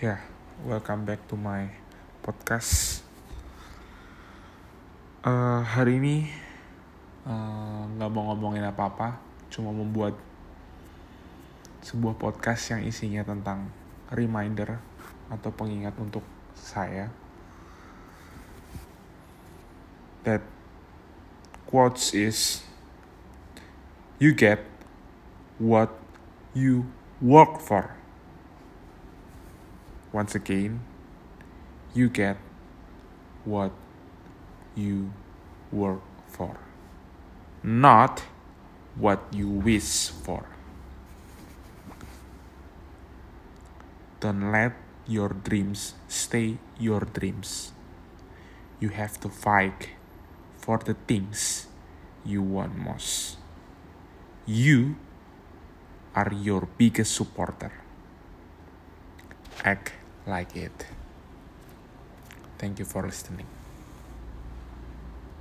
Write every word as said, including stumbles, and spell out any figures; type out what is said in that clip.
Ya, yeah, welcome back to my podcast. Uh, hari ini nggak uh, mau ngomongin apa-apa, cuma membuat sebuah podcast yang isinya tentang reminder atau pengingat untuk saya that quotes is you get what you work for. Once again, you get what you work for, not what you wish for. Don't let your dreams stay your dreams. You have to fight for the things you want most. You are your biggest supporter. Act like it. Thank you for listening.